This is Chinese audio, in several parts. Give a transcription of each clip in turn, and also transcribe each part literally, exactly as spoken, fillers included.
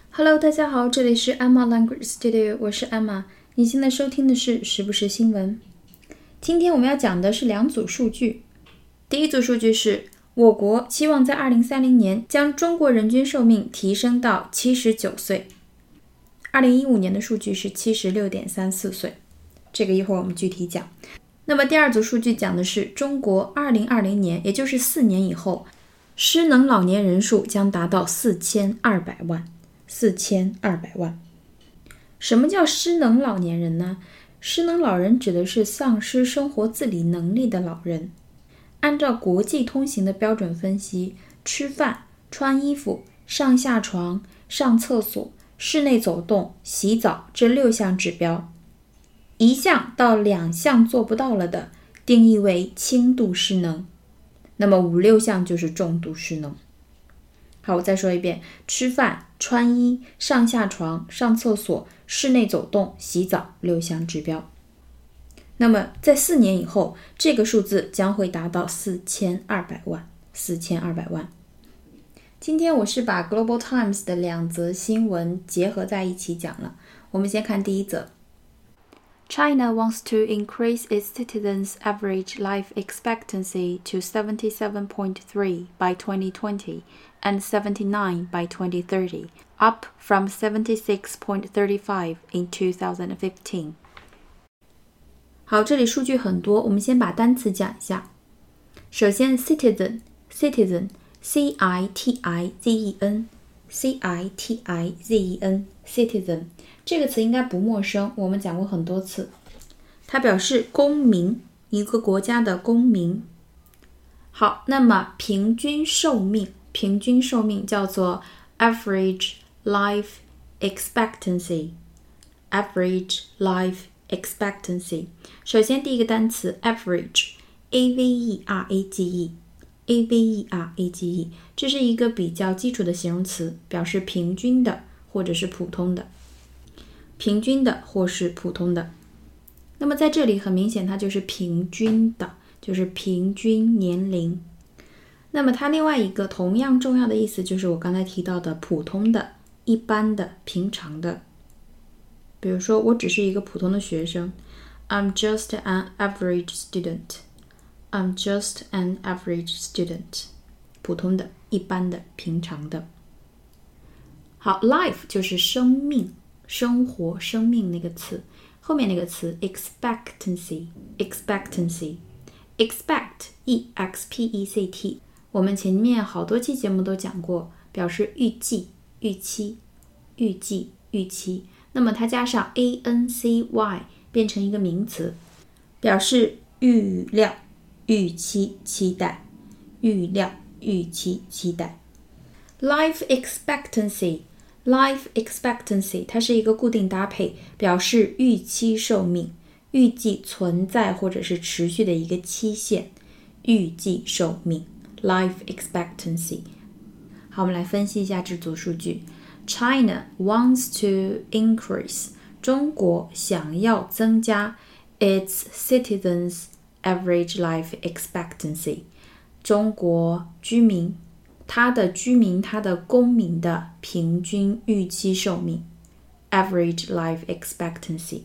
Hello， 大家好，这里是 Emma Language Studio， 我是 Emma。你现在收听的是时不时新闻。今天我们要讲的是两组数据。第一组数据是我国期望在二零三零年将中国人均寿命提升到七十九岁。二零一五年的数据是 七十六点三四岁，这个一会儿我们具体讲。那么第二组数据讲的是中国二零二零年，也就是四年以后，失能老年人数将达到四千二百万。四千二百万。什么叫失能老年人呢？失能老人指的是丧失生活自理能力的老人。按照国际通行的标准分析，吃饭、穿衣服、上下床、上厕所、室内走动、洗澡这六项指标，一项到两项做不到了的，定义为轻度失能。那么五六项就是重度失能。好，我再说一遍，吃饭、穿衣、上下床、上厕所、室内走动、洗澡六项指标。那么在四年以后，这个数字将会达到四千二百万。四千二百万。今天我是把 Global Times 的两则新闻结合在一起讲了。我们先看第一则。China wants to increase its citizens' average life expectancy to seventy-seven point three by twenty twenty and seventy-nine by twenty thirty, up from seventy-six point three five in two thousand fifteen. 好，这里数据很多，我们先把单词讲一下。首先 citizen, citizen, C I T I Z E N, C I T I Z E N, citizen。这个词应该不陌生，我们讲过很多次。它表示公民，一个国家的公民。好，那么平均寿命，平均寿命叫做 average life expectancy, average life expectancy。首先第一个单词 average, A V E R A G E, A V E R A G E， 这是一个比较基础的形容词，表示平均的或者是普通的。平均的或是普通的。那么在这里很明显它就是平均的，就是平均年龄。那么它另外一个同样重要的意思就是我刚才提到的普通的、一般的、平常的。比如说我只是一个普通的学生， I'm just an average student. I'm just an average student. 普通的、一般的、平常的。好， life 就是生命，生活、生命那个词，后面那个词 expectancy, expectancy, expect, E X P E C T， 我们前面好多期节目都讲过，表示预计、预期、预计、预期。那么它加上 A N C Y 变成一个名词，表示预料、预期、期待、预料、预期、期待。Life expectancy,Life expectancy 它是一个固定搭配，表示预期寿命，预计存在或者是持续的一个期限，预计寿命 Life expectancy。 好，我们来分析一下这组数据。 China wants to increase 中国想要增加 its citizens average life expectancy 中国居民他的居民他的公民的平均预期寿命 average life expectancy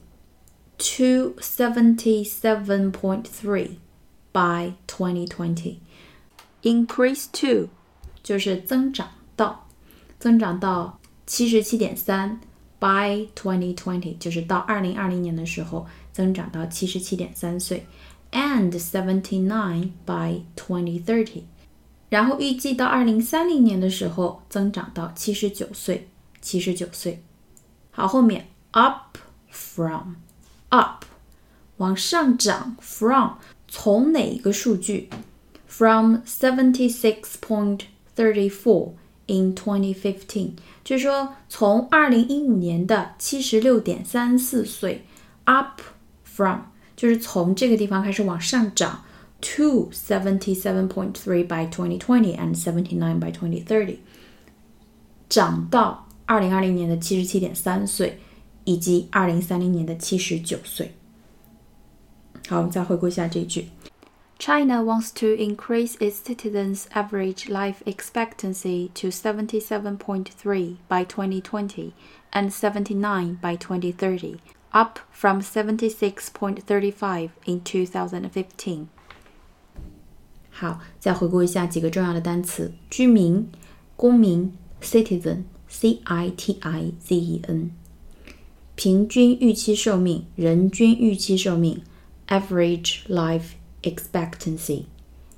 to seventy-seven point three by twenty twenty. Increase to 就是增长到增长到 七十七点三 by twenty twenty 就是到二零二零年的时候增长到 七十七点三岁 and seventy-nine by twenty thirty，然后预计到二零三零年的时候增长到七十九岁，七十九岁。好，后面 up from up 往上涨 from 从哪一个数据 from seventy-six point three four in twenty fifteen 就是说从二零一五年的 七十六点三四岁 up from 就是从这个地方开始往上涨to seventy-seven point three by twenty twenty and seventy-nine by twenty thirty 涨到二零二零年的 七十七点三岁以及二零三零年的七十九岁。好，我们再回顾一下这一句。 China wants to increase its citizens' average life expectancy to seventy-seven point three by twenty twenty and seventy-nine by twenty thirty, up from seventy-six point three five in two thousand fifteen. 好，再回顾一下几个重要的单词：居民、公民 citizen C I T I Z E N， 平均预期寿命、人均预期寿命 average life expectancy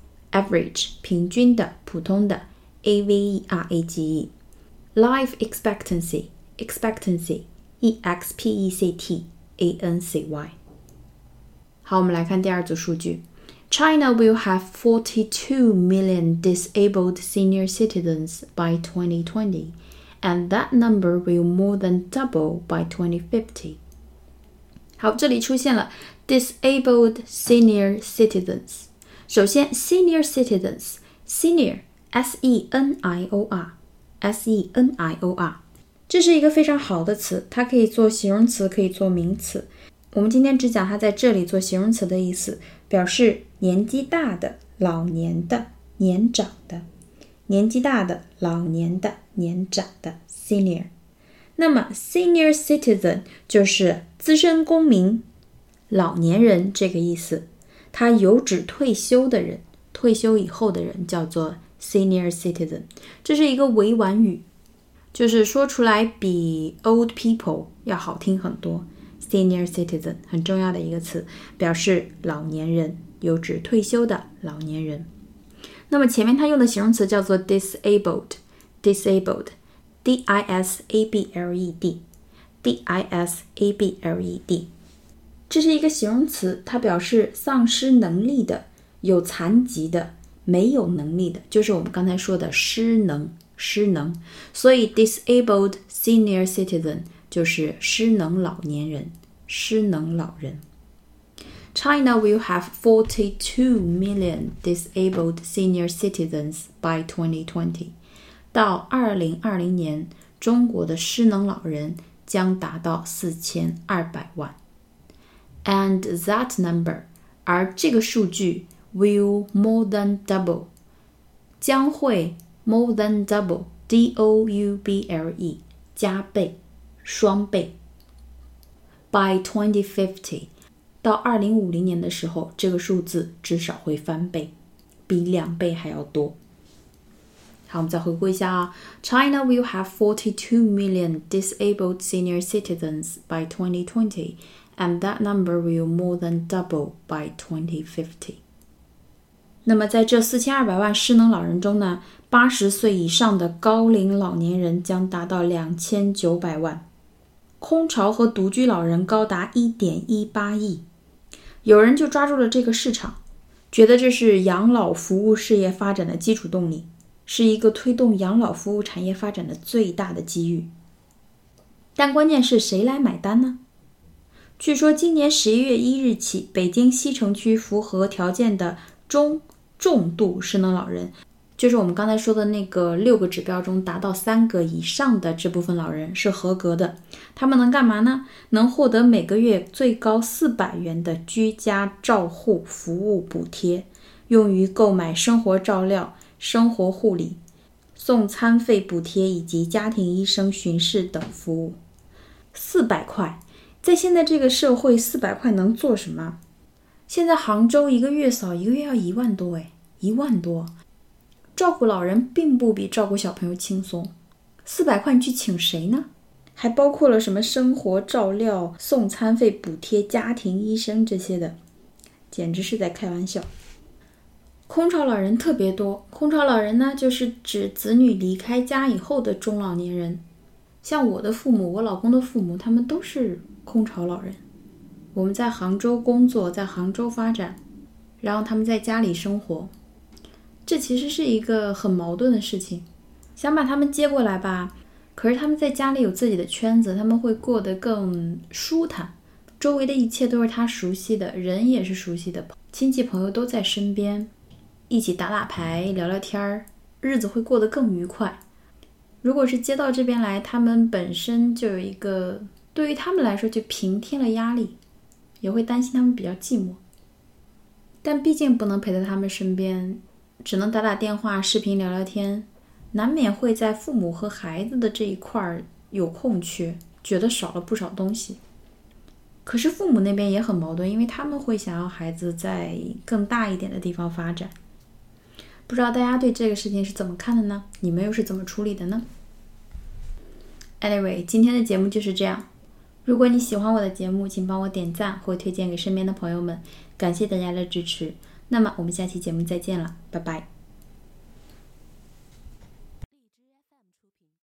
average 平均的、普通的 A V E R A G E life expectancy expectancy E X P E C T A N C Y。 好，我们来看第二组数据。 China will have forty-two million disabled senior citizens by twenty twenty, and that number will more than double by twenty fifty。 好，这里出现了 disabled senior citizens。 首先 senior citizens senior S E N I O R S E N I O R， 这是一个非常好的词，它可以做形容词，可以做名词。我们今天只讲它在这里做形容词的意思，表示年纪大的、老年的、年长的。年纪大的、老年的、年长的 senior。 那么 senior citizen 就是资深公民、老年人这个意思，它有指退休的人，退休以后的人叫做 senior citizen。 这是一个委婉语，就是说出来比 old people 要好听很多。 senior citizen 很重要的一个词，表示老年人，有指退休的老年人。那么前面它用的形容词叫做 disabled disabled D I S A B L E D D I S A B L E D， 这是一个形容词，它表示丧失能力的、有残疾的、没有能力的，就是我们刚才说的失能失能。所以 disabled senior citizen 就是失能老年人，失能老人。China will have forty-two million disabled senior citizens by twenty twenty. 到二零二零年，中国的失能老人将达到四千二百万。And that number， 而这个数据 will more than double， 将会 more than double D O U B L E 加倍、双倍。By twenty fifty，到二零五零年的时候，这个数字至少会翻倍，比两倍还要多。好，我们再回顾一下啊。China will have forty-two million disabled senior citizens by twenty twenty, and that number will more than double by twenty fifty. 那么在这四千二百万失能老人中呢，八十岁以上的高龄老年人将达到两千九百万。空巢和独居老人高达 一点一八亿。有人就抓住了这个市场，觉得这是养老服务事业发展的基础动力，是一个推动养老服务产业发展的最大的机遇。但关键是谁来买单呢？据说今年十一月一日起，北京西城区符合条件的中重度失能老人，就是我们刚才说的那个六个指标中达到三个以上的这部分老人是合格的。他们能干嘛呢？能获得每个月最高四百元的居家照护服务补贴，用于购买生活照料、生活护理、送餐费补贴以及家庭医生巡视等服务。四百块，在现在这个社会，四百块能做什么？现在杭州一个月嫂一个月要一万多诶，一万多。照顾老人并不比照顾小朋友轻松，四百块你去请谁呢？还包括了什么生活照料、送餐费补贴、家庭医生这些的，简直是在开玩笑。空巢老人特别多，空巢老人呢，就是指子女离开家以后的中老年人。像我的父母，我老公的父母，他们都是空巢老人。我们在杭州工作，在杭州发展，然后他们在家里生活。这其实是一个很矛盾的事情，想把他们接过来吧，可是他们在家里有自己的圈子，他们会过得更舒坦，周围的一切都是他熟悉的，人也是熟悉的，亲戚朋友都在身边，一起打打牌、聊聊天，日子会过得更愉快。如果是接到这边来，他们本身就有一个，对于他们来说就平添了压力，也会担心他们比较寂寞。 但毕竟不能陪在他们身边，只能打打电话、视频聊聊天，难免会在父母和孩子的这一块有空缺，觉得少了不少东西。可是父母那边也很矛盾，因为他们会想要孩子在更大一点的地方发展。不知道大家对这个事情是怎么看的呢？你们又是怎么处理的呢？ Anyway， 今天的节目就是这样。如果你喜欢我的节目，请帮我点赞或推荐给身边的朋友们，感谢大家的支持。那么我们下期节目再见了，拜拜。